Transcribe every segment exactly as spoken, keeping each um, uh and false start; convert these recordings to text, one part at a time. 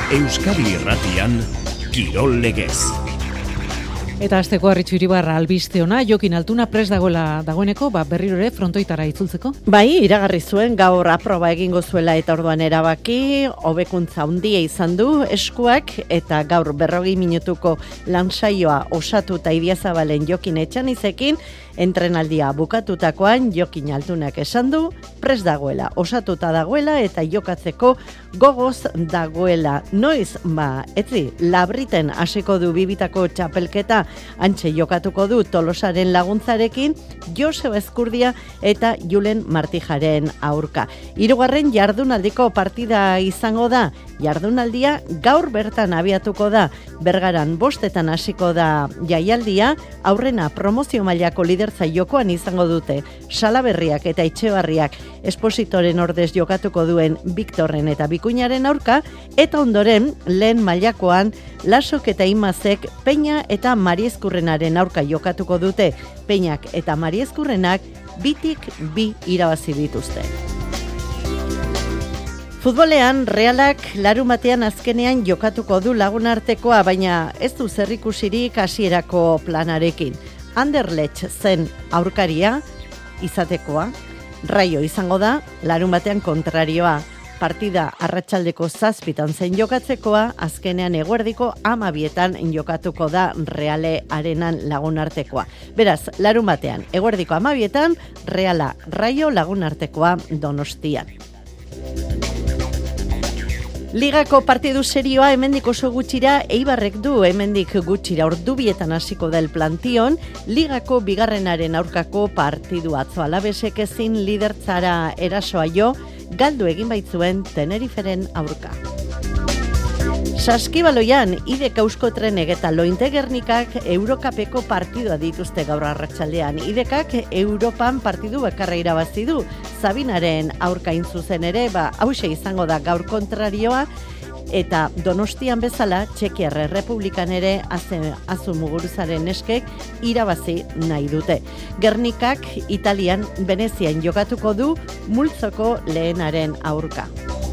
Euskadi Irratian, Kirol Legez. Eta asteko Arritxu Iribarra albiste ona, Jokin Altuna prest dagoela dagoeneko, ba berriro ere frontoitara itzultzeko. Bai, iragarri zuen gaur aproba egingo zuela eta orduan erabaki, hobekuntza handia izan du eskuak eta gaur berrogei minutuko lansaioa osatuta Idiazabalen Jokin Etxanizekin, entrenaldia bukatutakoan Jokin Altunak esan du, prest dagoela, osatuta dagoela eta jokatzeko gogoz dagoela. Noiz, ba, etzi, Labriten hasiko du bibitako txapelketa, antxe jokatuko du Tolosaren laguntzarekin, Joseba Ezkurdia eta Julen Martijaren aurka. Hirugarren jardunaldiko partida izango da, jardunaldia gaur bertan abiatuko da, Bergaran bostetan hasiko da jaialdia, aurrena promozio mailako lidertza jokoan izango dute, Salaberriak eta Etxebarriak espositoren ordez jokatuko duen Viktorren eta Bikuñaren aurka, eta ondoren lehen mailakoan Lasok eta Imazek Peña eta Mariezkurrenaren aurka jokatuko dute. Peñak eta Mariezkurrenak bitik bi irabazi dituzte. Futbolean, Realak larumatean azkenean jokatuko du lagunartekoa, baina ez du zerrikusirik hasierako planarekin. Anderlecht zen aurkaria izatekoa, Raio izango da, larumatean kontrarioa. Partida arratsaldeko zazpitan zen jokatzekoa, azkenean eguerdiko amabietan jokatuko da Reale Arenan lagunartekoa. Beraz, larumatean, eguerdiko amabietan, Reala Raio lagunartekoa Donostian. Ligako partidu serioa hemendik oso gutxira Eibarrek du, hemendik gutxira ordubietan hasiko da el plantion, Ligako bigarrenaren aurkako partidu atzo Alabesek ezin lidertzara erasoa jo, galdu egin baitzuen Teneriferen aurka. Saskibaloian, Idek Euskotrenek eta Lointe-Gernikak Eurokapeko partidua dituzte gaur arratsaldean. Idekak Europan partidu bakarra irabazi du. Sabinaren aurkain zuzen ere, ba, hause izango da gaur kontrarioa, eta Donostian bezala, Txekiar Errepublikan ere Azu Muguruzaren eskek irabazi nahi dute. Gernikak Italian, Venezian jokatuko du multzoko lehenaren aurka.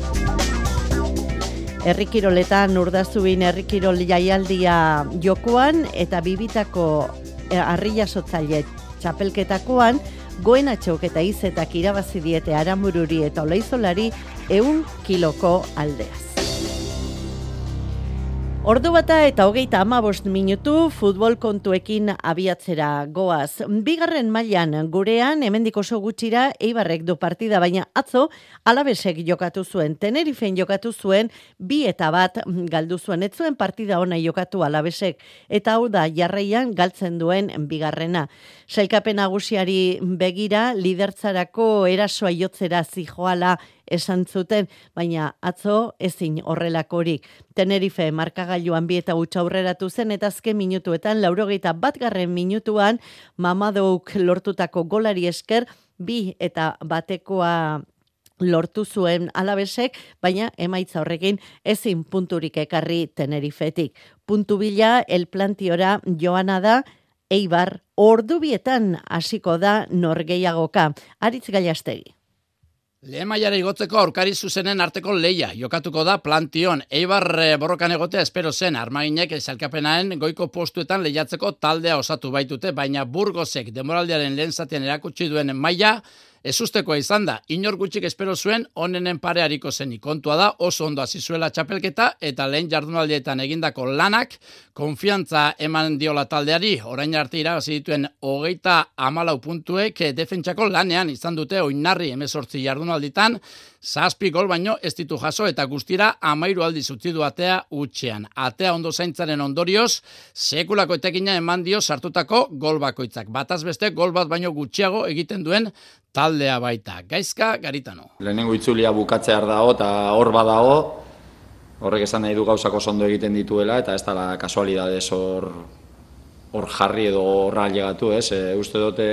Herrikiroletan Urdazubin herrikirol jaialdia jokoan eta bibitako harri-jasotzaile txapelketakoan Goenatxok eta Izetak irabazi diete Aramururi eta Olaizolari ehun kiloko aldeaz. Ordu bata eta hogeita hamabost minutu futbol kontuekin abiatzera goaz. Bigarren mailan gurean, hemendik oso gutxira, Eibarrek du partida, baina atzo Alabesek jokatu zuen, Tenerifen jokatu zuen, bi eta bat galdu zuen, ez zuen partida ona jokatu Alabesek, eta hau da jarraian galtzen duen bigarrena. Sailkapen nagusiari begira, lidertzarako erasoa jotzera zijoala esan zuten, baina atzo ezin horrelakorik. Tenerife markagailuan bi eta huts aurreratu zen eta azken minutuetan, laurogeita batgarren minutuan, Mamadouk lortutako golari esker, bi eta batekoa lortu zuen Alabesek, baina emaitza horrekin ezin punturik ekarri Tenerifetik. Puntu bila, el plantiora joana da, Eibar ordubietan hasiko da norgehiagoka. Aritz Gallastegi. Lehen mailara igotzeko aurkari zuzenen arteko leia jokatuko da plantion. Eibar borrokan egotea espero zen, armaginek sailkapenaren goiko postuetan lehiatzeko taldea osatu baitute, baina Burgosek demoraldiaren lehen zatean erakutsi duen maila ezustekoa izan da. Inor gutxik espero zuen onenen pare hariko zenik. Kontua da oso ondo hasi zuela txapelketa eta lehen jardunaldietan egindako lanak konfiantza eman diola taldeari. Orain arte irabazi dituen hogeita hamalau puntuek defentsako lanean izan dute oinarri hemezortzi jardunalditan, zazpi gol baino ez ditu jaso eta guztira amairu aldiz utzi du atea hutsean. Atea ondo zaintzaren ondorioz, sekulako etekina eman dio sartutako gol bakoitzak. Bataz beste gol bat baino gutxiago egiten duen taldea baita. Gaizka Garitano. Lehenengo itzulia bukatzear dago eta hor badago, horrek esan nahi du gauzako ondo egiten dituela eta ez dela kasualidadez hor hor jarri edo horra ailegatu, ez? E, uste dute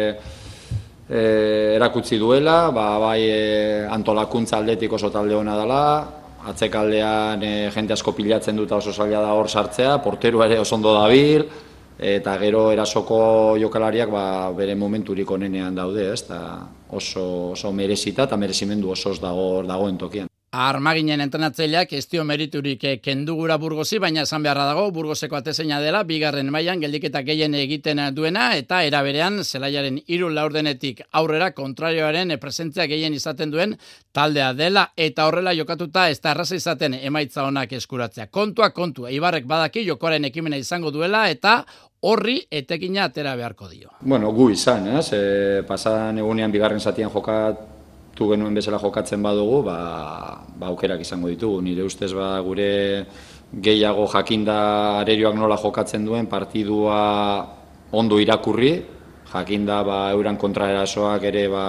e, erakutsi duela, ba, bai e, antolakuntza aldetik oso talde ona dela, atzekaldean e, jente asko pilatzen dut oso zaila da hor sartzea, porteru ere oso ondo dabil, eta gero erasoko jokalariak ba, bere momenturik onenean daude, ez? Ta oso, oso merezita eta merezimendu osoz dago, dagoen tokian. Armaginen entrenatzaileak ez dio meriturik kendu gura Burgosi, baina esan beharra dago Burgoseko atezaina dela, bigarren mailan geldiketa gehien egiten duena, eta era berean zelaiaren hiru laurdenetik aurrera kontrarioaren presentzia gehien izaten duen taldea dela, eta horrela jokatuta ez da erraza izaten emaitza onak eskuratzea. Kontua kontu, Eibarrek badaki jokoaren ekimena izango duela, eta horri etekina atera beharko dio. Bueno, gu izan, ez? E, pasadan egunean bigarren zatian jokat tu genuen bezala jokatzen badugu, ba, ba aukerak izango ditugu. Nire ustez ba gure gehiago jakinda arerioak nola jokatzen duen partidua ondo irakurri, jakinda ba euran kontraerasoak ere ba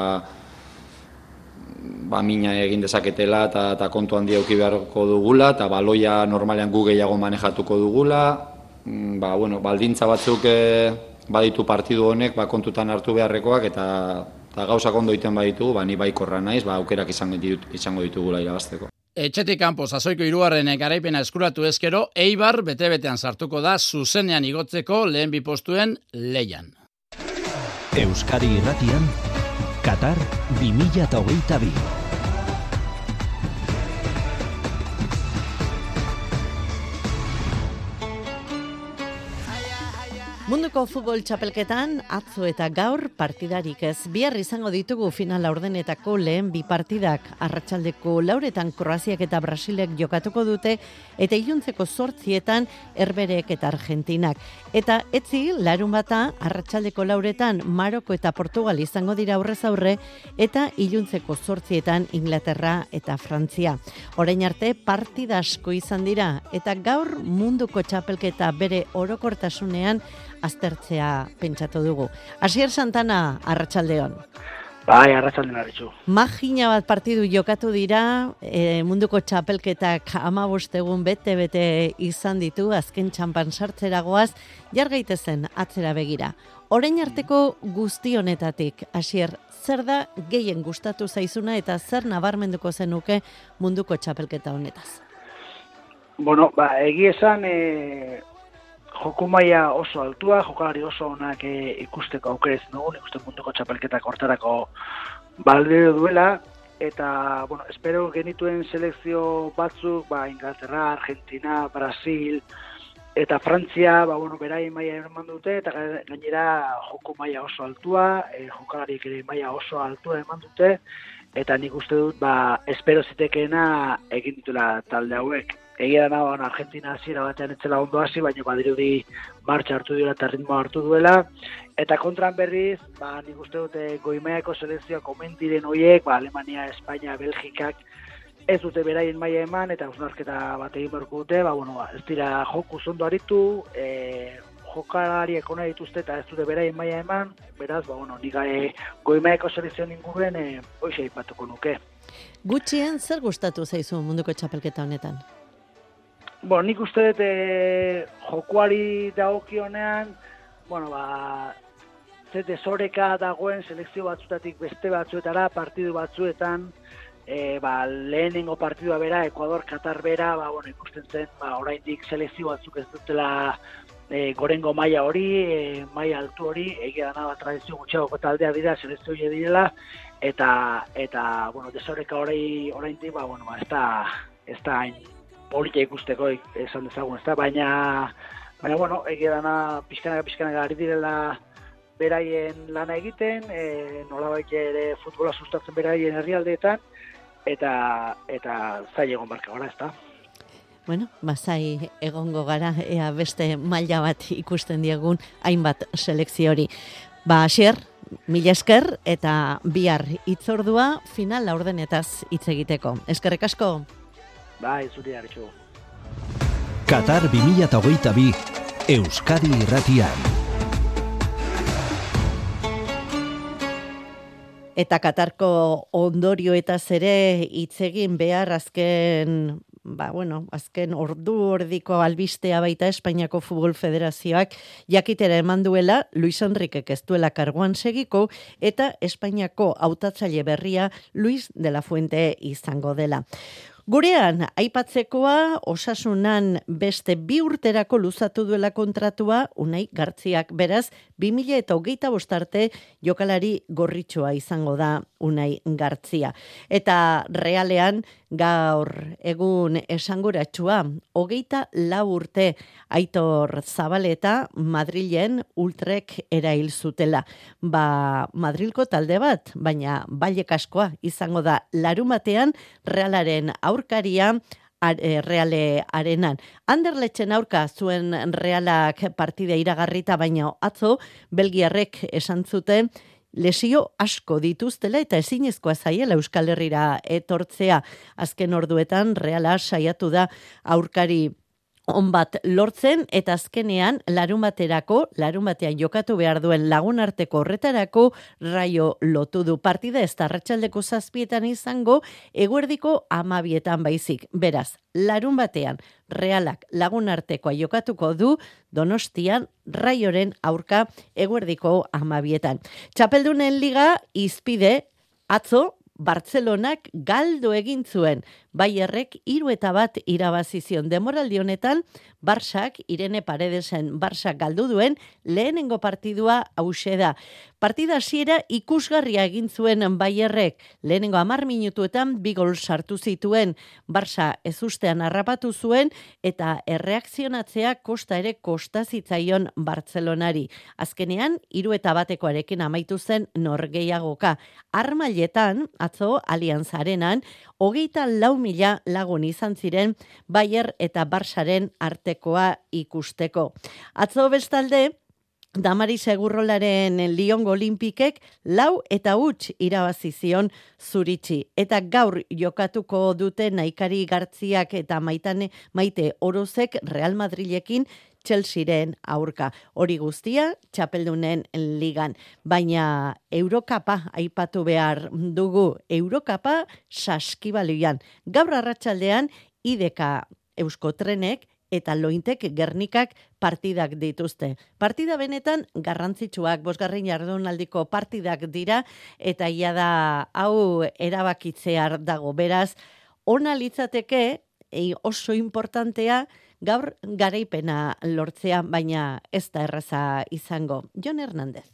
ba mina egin dezaketela eta ta kontu handia eduki beharko dugula eta baloia normalean gu gehiago manejatuko dugula. Ba bueno, baldintza batzuk e, baditu partidu honek ba kontutan hartu beharrekoak eta eta gauzak ondo iten baditugu, ba, ni baikorra naiz, ba, aukerak izango, ditut, izango ditugula irabazteko. Etxetik kanpo sasoiko hirugarren garaipena eskuratu ezkero, Eibar bete-betean sartuko da zuzenean igotzeko lehen bi postuen leian. Euskadi Irratian, Qatar bi mila hogeita bi. Munduko futbol txapelketan atzo eta gaur partidarik ez. Bihar izango ditugu final laurdenetako lehen bi partidak. Arratsaldeko lauretan Kroaziak eta Brasilek jokatuko dute eta iluntzeko zortzietan Herberek eta Argentinak. Eta etzi larun bata arratsaldeko lauretan Maroko eta Portugal izango dira aurrez aurre eta iluntzeko zortzietan Inglaterra eta Frantzia. Orain arte partida asko izan dira eta gaur munduko txapelketa bere orokortasunean aztertzea pentsatu dugu. Asier Santana, arratsaldeon. Bai, arratsaldeon arritxu. Magina bat partidu jokatu dira, e, munduko txapelketak hamabost egun bete-bete izan ditu, azken txanpan sartzeragoaz, jar gaitezen atzera begira. Orain arteko guzti honetatik, Asier, zer da gehien gustatu zaizuna eta zer nabarmenduko zenuke munduko txapelketa honetaz? Bueno, ba, egi esan, e... joku maila oso altua, jokalari oso onak e, ikusteko aukerez dugu, ikusten munduko txapelketak hortarako balio duela, eta, bueno, espero genituen selekzio batzuk, ba, Inglaterra, Argentina, Brasil, eta Frantzia, ba, bueno, berai maila eman dute, eta gainera joku maila oso altua, e, jokalariek ere maila oso altua eman dute, eta nik uste dut, ba, espero zitekeena egin dituela talde hauek. Egia da nagoan Argentina hasiera batean etzela ondo hasi, baina badirudi martxa hartu duela eta ritmoa hartu duela. Eta kontran berriz, ba, nik uste dute goimailako selekzioa komentiren horiek, ba, Alemania, Espainia, Belgikak ez dute beraien maila eman, eta hausnarketa bat egin beharko dute, ba, bueno, ba, ez dira joku zondo aritu, e, jokalariek ona dituzte eta ez dute beraien maila eman, beraz, ba, bueno, nik e, goimailako selekzioen inguruen e, hoxe aipatuko nuke. Gutxien zer gustatu zaizu munduko txapelketa honetan? Bueno, nik uste dut e, jokuari dagokionean, bueno, ba, ze desoreka dagoen selekzio batzutatik beste batzuetara, partidu batzuetan, e, ba, lehenengo partidua bera, Ekuador, Katar bera, ba, bueno, ikusten zen, ba, oraindik selekzio batzuk ez dutela e, gorengo maila hori, e, maila altu hori, egia dana, ba, tradizio gutxiagoko taldea dira, selekzio hori direla, eta, eta, bueno, desoreka hori oraindik, ba, bueno, ba, ez da, ez da hain polita ikusteko esan dezagun, ezta? Baina, baina, bueno, egia dana pixkanaka pixkanaka ari direla beraien lana egiten, e, nolabait ere futbola sustatzen beraien herrialdeetan, eta eta zai egon barka gara, ezta? Bueno, bazai egongo gara, ea beste maila bat ikusten diegun hainbat selekzio hori. Ba, Asier, mila esker eta bihar hitzordua final laurdenetaz hitz egiteko. Eskerrik asko. Bai, zuri hartxu. Qatar bi mila hogeita bi, Euskadi Irratian. Eta Katarko ondorioetaz ere hitz egin behar azken, ba, bueno, azken ordu ordiko albistea baita Espainiako Futbol Federazioak jakitera eman duela Luis Enriquek ez duela karguan segiko eta Espainiako hautatzaile berria Luis de la Fuente izango dela. Gurean, aipatzekoa, Osasunan beste bi urterako luzatu duela kontratua, Unai Gartziak, beraz, bi mila eta hogeita bostarte jokalari gorritxoa izango da Unai Gartzia. Eta realean, gaur egun esanguratsua, hogeita lau urte Aitor Zabaleta Madrilen ultrek erail zutela. Ba, Madrilko talde bat, baina Vallecascoa izango da larumatean Realaren aurkaria Reale arenan. Anderlechen aurka zuen Realak partida iragarrita, baina atzo Belgiarrek esan zuten lesio asko dituztela eta ezinezkoa zaiela Euskal Herrira etortzea. Azken orduetan Reala saiatu da aurkari on bat lortzen eta azkenean larumaterako, larumatean jokatu behar duen lagunarteko horretarako Raio lotu du. Partida ez da arratsaldeko zazpietan izango, eguerdiko amabietan baizik. Beraz, larunbatean Realak lagunartekoa jokatuko du Donostian Raioren aurka eguerdiko amabietan. Txapeldunen liga izpide atzo Bartzelonak galdu egin zuen. Bayerrek hiru eta bat irabazi zion. Demoraldi honetan Barsak, Irene Paredesen Barsak galdu duen lehenengo partidua hauxe da. Partida hasiera ikusgarria egin zuen Bayerrek. Lehenengo hamar minutuetan bi gol sartu zituen. Barsa ezustean harrapatu zuen eta erreakzionatzea kosta ere kosta zitzaion Bartzelonari. Azkenean hiru eta batekoarekin amaitu zen norgehiagoka. Armailetan atzo Allianz Arenan hogeita lau mila lagun izan ziren Bayer eta Barsaren artekoa ikusteko. Atzo bestalde, Damaris Egurrolaren Liongo Olimpikek lau eta huts irabazi zion Zuritzi. Eta gaur jokatuko dute Naikari Gartziak eta Maitane, Maite Orozek Real Madrilekin Chelsearen aurka. Hori guztia txapeldunen ligan. Baina Eurokapa aipatu behar dugu. Eurokapa saskibaloian. Gaur arratsaldean Ideka Euskotrenek eta Lointek Gernikak partidak dituzte. Partida benetan garrantzitsuak, bosgarren jardunaldiko partidak dira, eta ia da hau erabakitzear dago. Beraz, ona litzateke, oso importantea, gaur garaipena lortzea, baina ez da erraza izango. Jon Hernández.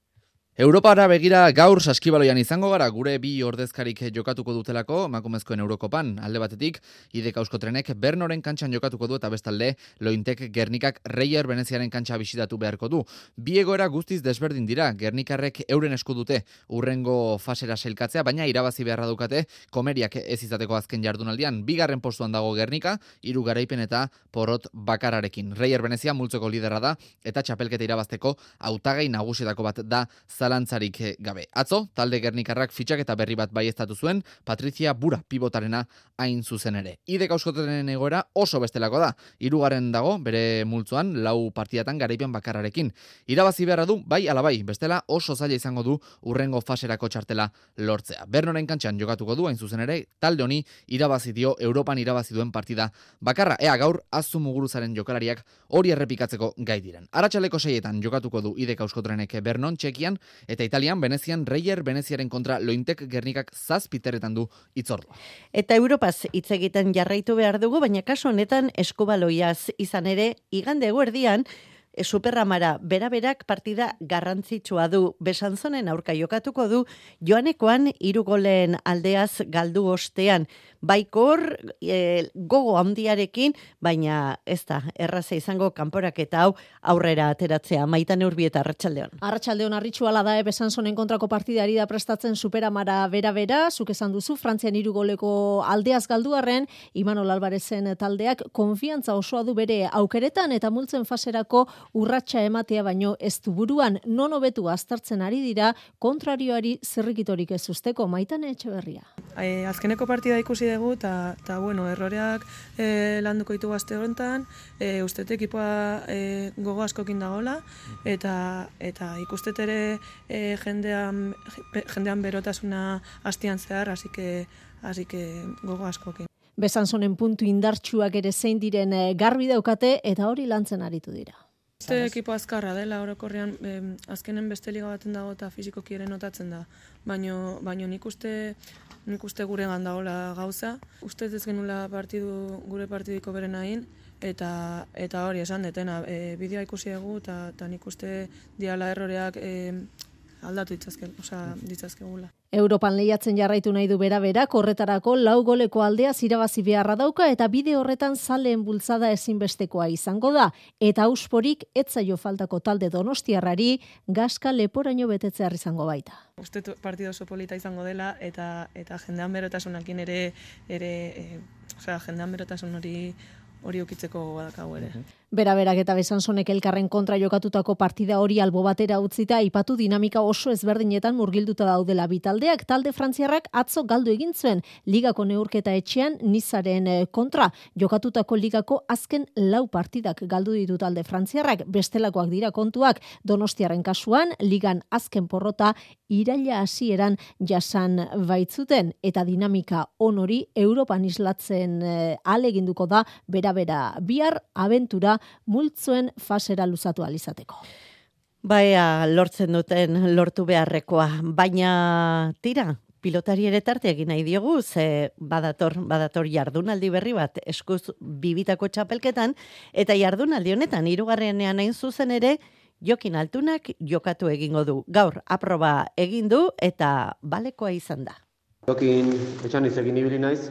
Europara begira gaur saskibaloian izango gara, gure bi ordezkarik jokatuko dutelako, emakumezkoen Eurokopan. Alde batetik, Ideka Euskotrenek Bernoren kantxan jokatuko du eta bestalde Lointek Gernikak Reier Veneziaren kantxa bisitatu beharko du. Bi egoera guztiz desberdin dira, Gernikarrek euren esku dute urrengo fasera sailkatzea, baina irabazi beharra dukate komeriak ez izateko azken jardunaldian. Bigarren postuan dago Gernika, hiru garaipen eta porrot bakararekin. Reier Venezia multzoko liderra da eta txapelketa irabazteko hautagai nagusietako bat da zalantzarik gabe. Atzo, talde Gernikarrak fitxaketa berri bat baieztatu zuen, Patricia Bura pibotarena hain zuzen ere. Ideka Euskotren egoera oso bestelako da. Hirugarren dago, bere multzoan, lau partidatan garaipen bakarrarekin. Irabazi beharra du, bai ala bai, bestela oso zaila izango du urrengo faserako txartela lortzea. Bernoren kantxan jokatuko du, hain zuzen ere, talde honi irabazi dio Europan irabazi duen partida bakarra. Ea gaur, Azu Muguruzaren jokalariak hori errepikatzeko gai diren. Arratsaleko seietan jokatuko du Ideka Euskotrenek Bernon, Txekian, eta Italian, Venezian, Reier Veneziaren kontra Lointek Gernikak zazpiterretan du itzordua. Eta Europaz hitz egiten jarraitu behar dugu, baina kasu honetan eskubaloiaz izan ere, igande eguerdian, Superramara beraberak partida garrantzitsua du. Besanzonen aurka jokatuko du, joanekoan hiru golen aldeaz galdu ostean. Baikor e, gogo handiarekin, baina ez da erraza izango kanporaketa hau aurrera ateratzea. Maitan Urbieta, arratsaldeon. Arratsaldeon arritxuala da Besanzonen kontrako partidari da prestatzen Superamara bera-bera, zuk esan duzu, Frantzian hiru goleko aldeaz galduarren, Imanol Alvarezen taldeak konfiantza osoa du bere aukeretan eta multzen faserako urratsa ematea baino ez du buruan, non hobetu aztertzen ari dira kontrarioari zirrikitorik ez usteko. Maitan Etxeberria. E, azkeneko partida ikusi dugu eta, eta bueno, erroreak e, landuko ditugu aste honetan, e, ustete ekipoa e, gogo askokin dagoela eta eta ikustet ere e, jendean, jendean berotasuna hastian zehar, así que, así que gogo askokin. Besanzonen puntu indartsuak ere zein diren garbi daukate eta hori lantzen aritu dira. Este ekipo azkarra dela orokorrean, eh, azkenen beste liga baten dago eta fizikoki ere notatzen da. Baino, baino nik uste nik uste guregan dagoela gauza. Ustez ez genula partidu, gure partidiko beren hain, eta eta hori esan detena, e, bideoa ikusi dugu eta, eta nik uste diala erroreak e, aldatu ditzazke, osea, ditzazkegula. Europan lehiatzen jarraitu nahi du bera-bera, horretarako lau goleko aldea irabazi beharra dauka eta bide horretan zaleen bultzada ezinbestekoa izango da. Eta ausporik etzaio faltako talde donostiarrari gaska leporaino betetzear izango baita. Uste partido oso polita izango dela eta eta jendean berotasunakin ere ere e, osea, jendean berotasun hori hori ukitzeko badakago ere. Bera-berak eta Besanzonek elkarren kontra jokatutako partida hori albo batera utzita aipatu dinamika oso ezberdinetan murgilduta daudela bitaldeak. Talde frantziarrak atzo galdu egin zuen ligako neurketa etxean Nizaren kontra. Jokatutako ligako azken lau partidak galdu ditu talde frantziarrak. Bestelakoak dira kontuak Donostiarren kasuan ligan azken porrota iraila hasieran jasan baitzuten eta dinamika onori Europan islatzen eh, aleginduko da bera-bera bihar abentura multzoen fasera luzatu alizateko. Baina lortzen duten lortu beharrekoa, baina tira, pilotari ere tarte egin nahi diogu, ze badator, badator jardunaldi berri bat eskuz bibitako txapelketan, eta jardunaldi honetan hirugarrenean hain zuzen ere, Jokin Altunak jokatu egingo du. Gaur aproba egin du eta balekoa izan da. Jokin etxan izekin ibili naiz,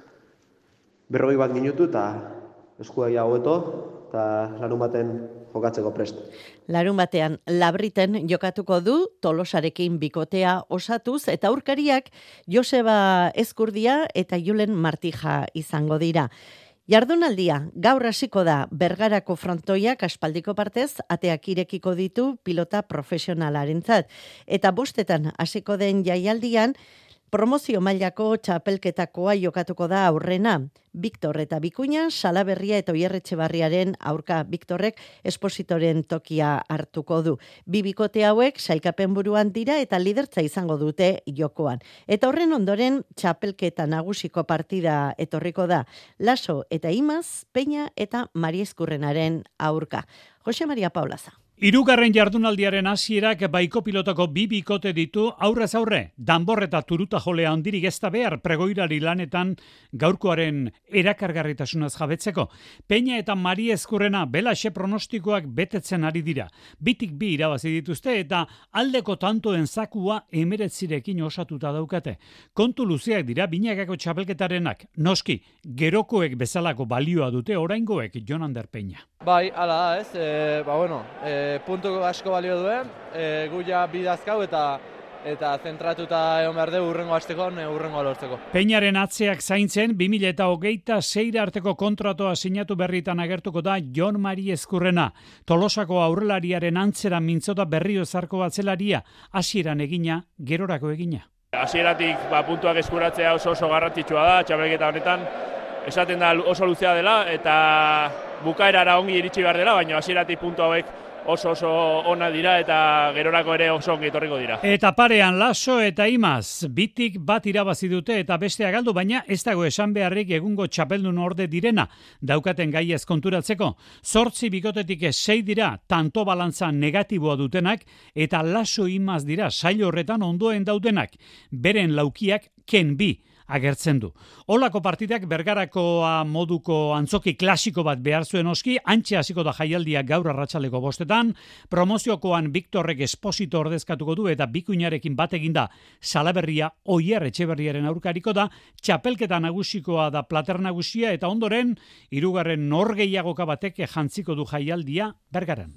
berrogei bat minutu eta eskua hobeto eta larun baten jokatzeko prest. Larun batean Labriten jokatuko du Tolosarekin bikotea osatuz eta aurkariak Joseba Ezkurdia eta Julen Martija izango dira. Jardunaldia gaur hasiko da Bergarako frontoiak aspaldiko partez ateak irekiko ditu pilota profesionalarentzat eta bostetan hasiko den jaialdian promozio mailako txapelketakoa jokatuko da aurrena. Viktor eta Bikuña, Salaberria eta Oierretxebarriaren aurka. Viktorrek espositoren tokia hartuko du. Bi bikote hauek sailkapen buruan dira eta lidertza izango dute jokoan. Eta horren ondoren txapelketa nagusiko partida etorriko da. Laso eta Imaz, Peña eta Mari Ezkurrenaren aurka. Jose Maria Paulaza. Hirugarren jardunaldiaren hasierak baiko pilotako bi bikote ditu aurrez aurre. Danbor eta turuta jolea handirik ez da behar pregoirari lanetan gaurkoaren erakargarritasunaz jabetzeko. Peña eta Mari Ezkurrena belaxe pronostikoak betetzen ari dira. Bitik bi irabazi dituzte eta aldeko tantoen zakua emeretzirekin osatuta daukate. Kontu luzeak dira binakako txapelketarenak. Noski, gerokoek bezalako balioa dute oraingoek Jonander Peña. Bai, ala da ez, e, ba bueno, e, puntu asko balio duen, e, gu ja bidazkau eta eta zentratuta egon behar dugu urrengo hasteko, urrengo lortzeko. Peñaren atzeak zaintzen, bi mila hogeita seira arteko kontratoa sinatu berritan agertuko da Jon Mari Ezkurrena. Tolosako aurrelariaren antzera mintzota berrio zarko batzelaria, hasieran egina, gerorako egina. Hasieratik ba, puntuak eskuratzea oso oso garrantzitsua da, txapelketa honetan, esaten da oso luzea dela eta bukaerara ongi iritsi behar dela, baina hasieratik puntu hauek oso oso ona dira eta gerorako ere oso ongi etorriko dira. Eta parean Laso eta Imaz, bitik bat irabazi dute eta bestea galdu, baina ez dago esan beharrik egungo txapeldun orde direna, daukaten gaiez konturatzeko. Zortzi bikotetik sei dira, tanto balantza negatiboa dutenak, eta Laso Imaz dira sail horretan ondoen daudenak, beren laukiak ken bi agertzen du. Olako partidak Bergarakoa moduko antzoki klasiko bat behar zuen oski, antxe hasiko da jaialdia gaur arratsaleko bostetan, promoziokoan Viktorrek Esposito ordezkatuko du eta Bikuñarekin bat eginda Salaberria Oierretxebarriaren aurkariko da, txapelketa nagusikoa da plater nagusia eta ondoren hirugarren norgehiagoka batek jantziko du jaialdia Bergaran.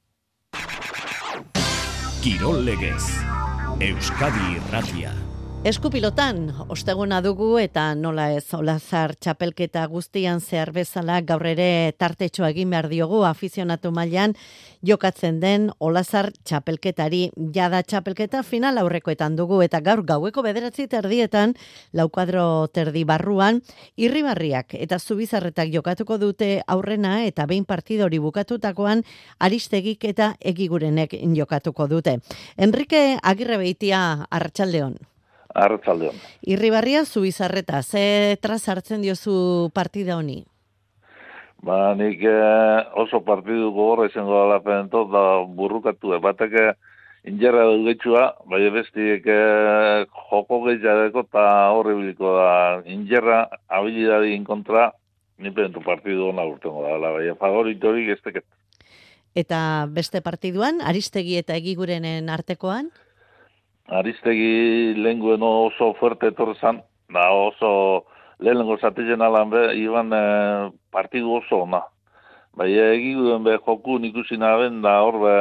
Kirol legez, Euskadi Irratia. Eskupilotan, osteguna dugu eta nola ez, Olazar txapelketa guztian zehar bezala gaur ere tartetxoa egin behar diogu afizionatu mailan jokatzen den Olazar txapelketari. Jada txapelketa final aurrekoetan dugu eta gaur gaueko bederatzi terdietan, laukadro terdi barruan, Irribarriak eta Zubizarretak jokatuko dute aurrena eta behin partidori bukatutakoan Aristegik eta Egigurenek jokatuko dute. Enrique Agirrebeitia, arratsaldeon. Arratsaldeon. Irribarria Zubizarreta, ze traz hartzen diozu partida honi? Ba, nik eh, oso partidu gogorra izango dela penentot, da burrukatu, batek injerra dugetxua, bai bestiek eh, joko gehiageko eta horribiliko da. Injerra habilidadien kontra, ni penentu partidu hona urtengo dela, bai favoritorik ez teket. Eta beste partiduan, Aristegi eta Egigurenen artekoan? Aristegi lehenguen oso fuerte etorrezan, da oso lehenengo zatezen alan be, iban eh, partidu oso ona. Bai, egiguren be joku ikusi naben, da horbe,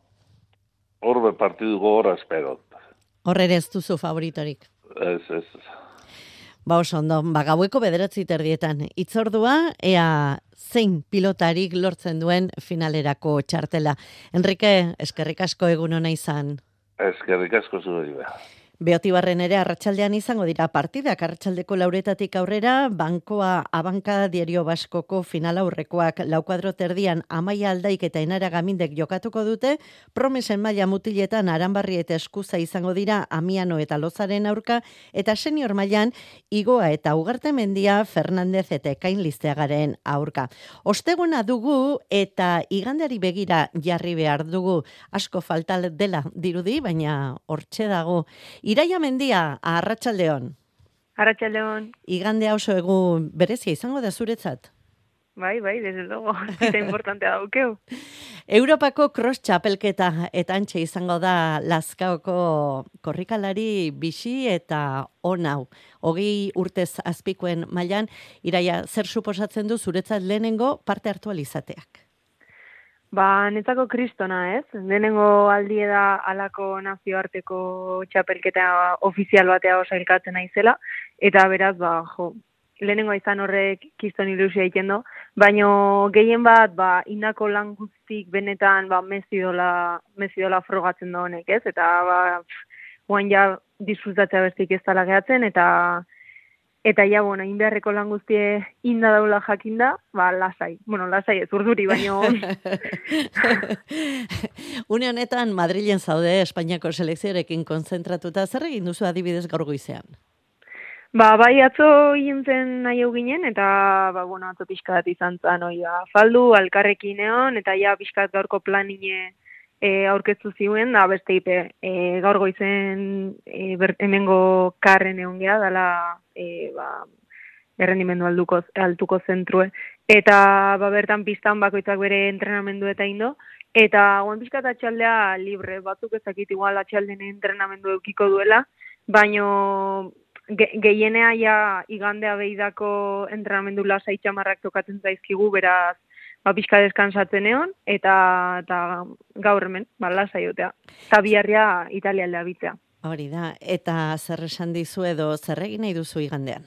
horbe partidu gogorra espero. Horre ere ez duzu favoritorik? Ez, ez. Ba oso ondo, ba gaueko bederatzi terdietan. Itzordua, ea zein pilotarik lortzen duen finalerako txartela. Enrique, eskerrik asko egun ona izan. Eskerrik asko zure behar. Beotibarren ere arratsaldean izango dira partidak, arratsaldeko lauretatik aurrera, Bankoa Abanka Diario Baskoko final aurrekoak laukuadro terdian Amaia Aldaik eta Enara Gamindek jokatuko dute, promesen maila mutiletan Aranbarri eta Eskuza izango dira Amiano eta Lozaren aurka, eta senior mailan Igoa eta Ugarte Mendia Fernandez eta Ekain Listeagaren aurka. Osteguna dugu eta igandeari begira jarri behar dugu, asko falta dela dirudi, baina hortxe dago. Iraia Mendia, arratsaldeon. Arratsaldeon. Igandea oso egun berezia izango da zuretzat. Bai, bai, desde luego. Zita importantea daukeu. Europako cross txapelketa eta antxe izango da Lazkaoko korrikalari bisi eta onau. Hogei urtez azpikoen mailan, Iraia, zer suposatzen du zuretzat lehenengo parte hartu alizateak? Ba, netzako kristona, ez? Lehenengo aldie da alako nazioarteko txapelketa ofizial batea osailkatzen naizela, eta beraz, ba, jo, lehenengo izan horrek kiston ilusia egiten do, baino gehien bat, ba, indako lan guztik benetan, ba, mezidola, mezidola frogatzen da honek, ez? Eta, ba, guain ja disfrutatzea bestik ez dala gehatzen, eta Eta ja, bueno, inbeharreko lan guztie inda daula jakinda, ba, lasai. Bueno, lasai ez urduri, baino... Une honetan, Madrilen zaude Espainiako selekzioarekin konzentratuta, zer egin duzu adibidez gaur goizean? Ba, bai, atzo hintzen nahi ginen, eta, ba, bueno, atzo pixkat izan zan, oi, ba, faldu, alkarrekin egon, eta ja, pixkat gaurko planine e, aurkeztu ziuen, da, beste ipe, e, gaur goizen e, ber, hemengo karren egon geha, dala, e, ba, errendimendu alduko, altuko zentrue. Eta, ba, bertan pistan bakoitzak bere entrenamendu eta indo, eta guan pixkat atxaldea libre, batzuk ezakit igual atxalden entrenamendu eukiko duela, baino ge, gehienea ja igandea behidako entrenamendu lasai txamarrak tokatzen zaizkigu, beraz, ba, pixka deskansatzen egon, eta, eta gaur hemen, ba, lasai jotea. Eta biharria Italia aldea bitzea. Hori da, eta zer esan dizu edo zer egin nahi duzu igandean?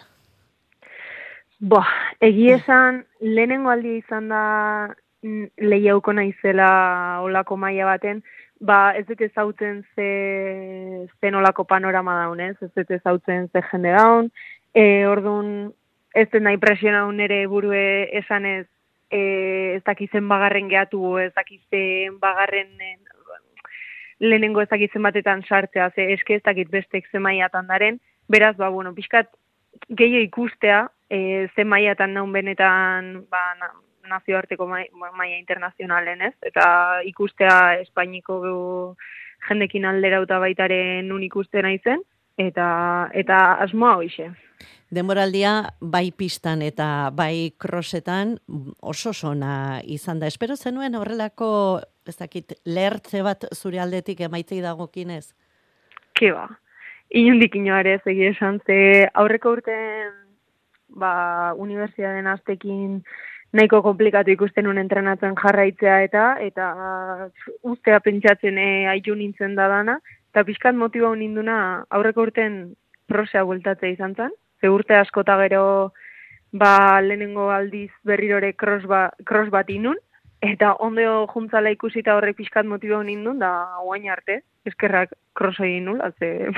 Bo, egi esan, lehenengo aldi izan da lehiauko naizela olako maila baten, ba, ez dut ezautzen ze, zen olako panorama daunez, ez dut ezautzen ze jende daun, e, orduan ez dut nahi presionaun ere burue esanez, e, ez dakizen bagarren gehatu, ez dakizen bagarren lehenengo ez dakitzen batetan sartzea, ze eske ez dakit bestek ze mailatan daren, beraz, ba, bueno, pixkat gehiago ikustea, e, ze mailatan naun benetan, ba, na, nazioarteko maila internazionalen, ez? Eta ikustea Espainiko jendekin alderauta baitaren nun ikuste naizen, eta, eta asmoa hoixe. Denboraldia bai pistan eta bai crossetan oso sona izan da. Espero zenuen horrelako, ez dakit, lehertze bat zure aldetik emaitzei dagokinez? Ke ba, inundik inoare ez egia esan, ze aurreko urten ba, unibertsitateen aztekin nahiko komplikatu ikusten un entrenatzen jarraitzea eta eta ustea pentsatzen e, aitu nintzen da dana, eta pixkat motiba ninduna aurreko urten prosea bueltatzea izan zen. Ze urte askota gero ba, lehenengo aldiz berrirore cross, ba, cross bat inun, eta ondo juntzala ikusita horrek pixkat motiba nindun, da guain arte, eskerrak cross egin nula, ze...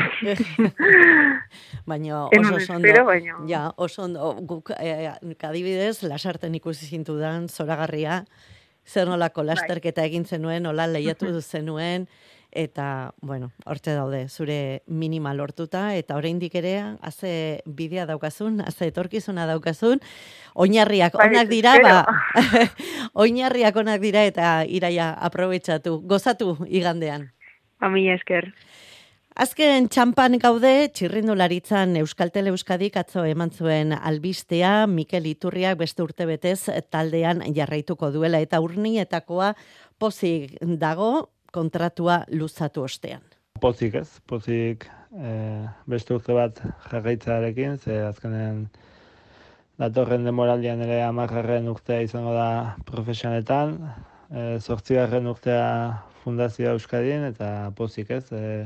Baina oso sondo, baina... ja, oso ondo, guk eh, kadibidez, lasarten ikusi zintudan, zoragarria, zer nolako lasterketa egin zenuen, hola lehiatu zenuen, eta, bueno, hortze daude, zure minima lortuta, eta oraindik ere, haze bidea daukazun, haze etorkizuna daukazun, oinarriak onak dira, ba, oinarriak onak dira, eta iraia aprobetxatu, gozatu igandean. Amila esker. Azken txampan gaude, txirrindularitzan Euskaltel Euskadik atzo eman zuen albistea, Mikel Iturriak beste urtebetez taldean jarraituko duela, eta urnietakoa pozik dago kontratua luzatu ostean. Pozik ez, pozik eh, beste urte bat jarraitzarekin, ze azkenen datorren demoraldian ere hamargarren urtea izango da profesionetan, eh, zortzigarren urtea Fundazioa Euskadin, eta pozik ez, eh,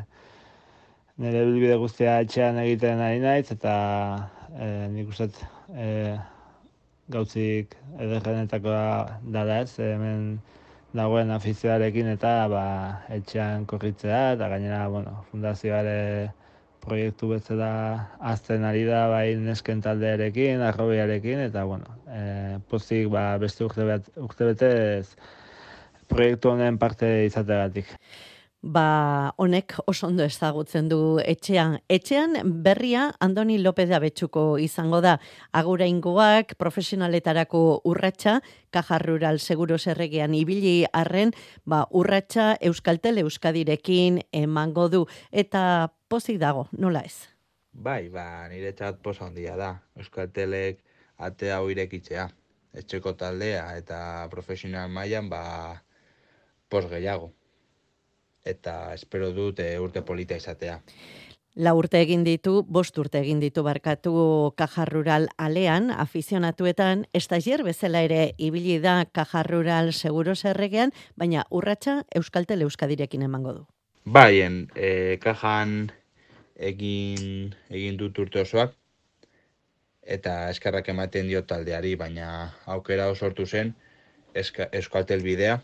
nire bilbide guztia etxean egiten ari naiz, eta e, nik uste e, gauzik ederrenetakoa dala ez, hemen dagoen afizioarekin eta ba, etxean korritzea, eta gainera, bueno, fundazioare proiektu bezala azten ari da, bai nesken taldearekin, arrobiarekin, eta bueno, e, pozik ba, beste urte, bet, urte betez proiektu honen parte izategatik. Ba, honek oso ondo ezagutzen du etxean. Etxean berria Andoni López de Abetxuko izango da. Aguraingoak profesionaletarako urratsa, Caja Rural Seguros erregean ibili arren, ba, urratsa Euskaltel Euskadirekin emango du. Eta pozik dago, nola ez? Bai, ba, niretzat posa handia da. Euskaltelek atea hau irekitzea. Etxeko taldea eta profesional mailan ba, pos gehiago. Eta espero dut e, urte polita izatea. La urte egin ditu, bost urte egin ditu barkatu Caja Rural alean, afizionatuetan, estagier bezala ere ibili da Caja Rural Seguros erregean, baina urratsa Euskaltel Euskadirekin emango du. Baien, e, kajan egin, egin dut urte osoak, eta eskerrak ematen dio taldeari, baina aukera sortu zen eska, Euskaltel bidea,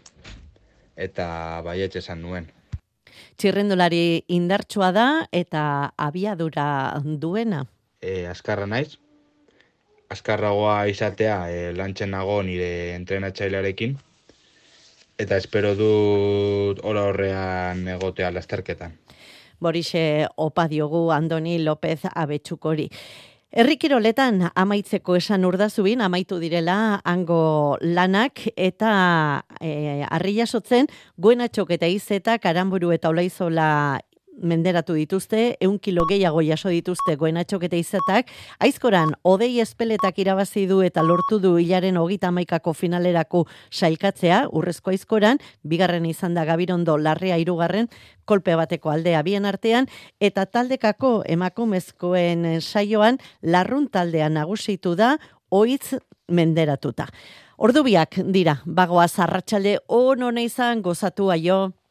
eta baietxe esan nuen. Txirrendulari indartsua da eta abiadura duena. E, askarra naiz. Askarragoa izatea e, lantzen nago nire entrenatzailearekin. Eta espero dut ora horrean egotea lasterketan. Borixe opa diogu Andoni López Abetxukori. Herrikiroletan amaitzeko esan urdazubin, amaitu direla hango lanak eta e, arriasotzen Goenatxok eta Izeta, Karamburu eta Olaizola menderatu dituzte, ehun kilo gehiago jaso dituzte Goenatxok eta Izetak, Aizkoran hodei espeletak irabazi du eta lortu du hilaren hogeita hamaikako finalerako sailkatzea, Urrezko Aizkoran, bigarren izan da Gabirondo Larrea hirugarren, kolpe bateko aldea bien artean, eta taldekako emakumezkoen saioan Larrun taldea nagusitu da, oitz menderatuta. Ordubiak dira, bagoaz arratsalde on ona izan gozatu aio.